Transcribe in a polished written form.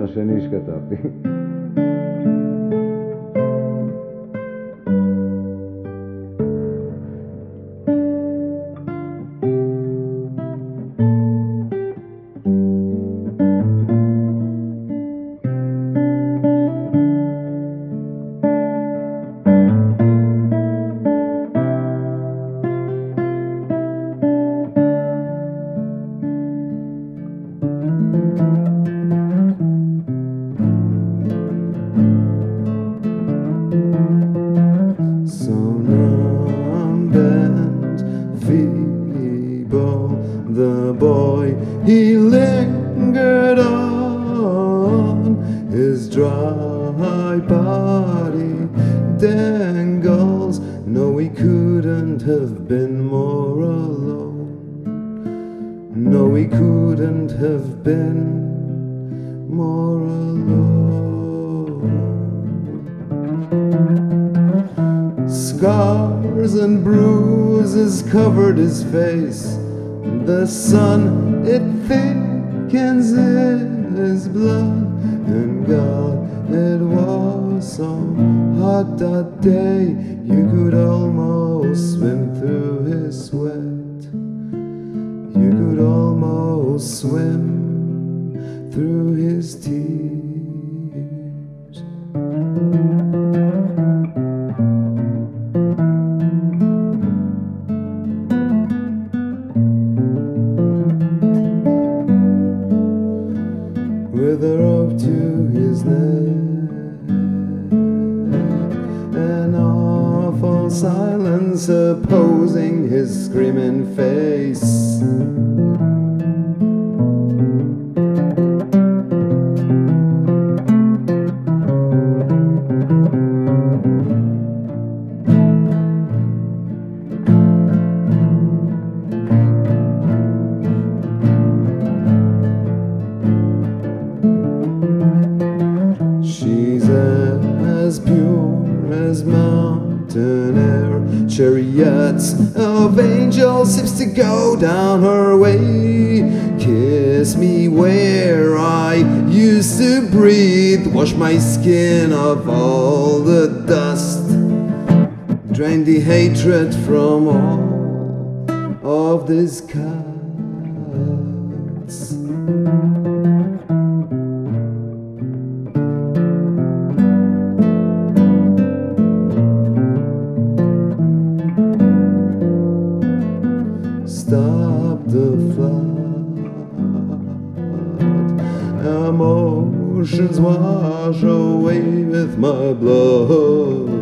השני שכתבתי. The boy, he lingered on, his dry body dangles. No, he couldn't have been more alone. No, he couldn't have been more alone. Scars and bruises covered his face. The sun, it thickens in his blood. And God, it was so hot that day, you could almost swim through his sweat. You could almost swim through his tears. With a rope to his neck, an awful silence opposing his screaming face. She's as pure as mountain air, chariots of angels seems to go down her way. Kiss me where I used to breathe, wash my skin of all the dust, drain the hatred from all of these cuts. Stop the flood. Emotions wash away with my blood.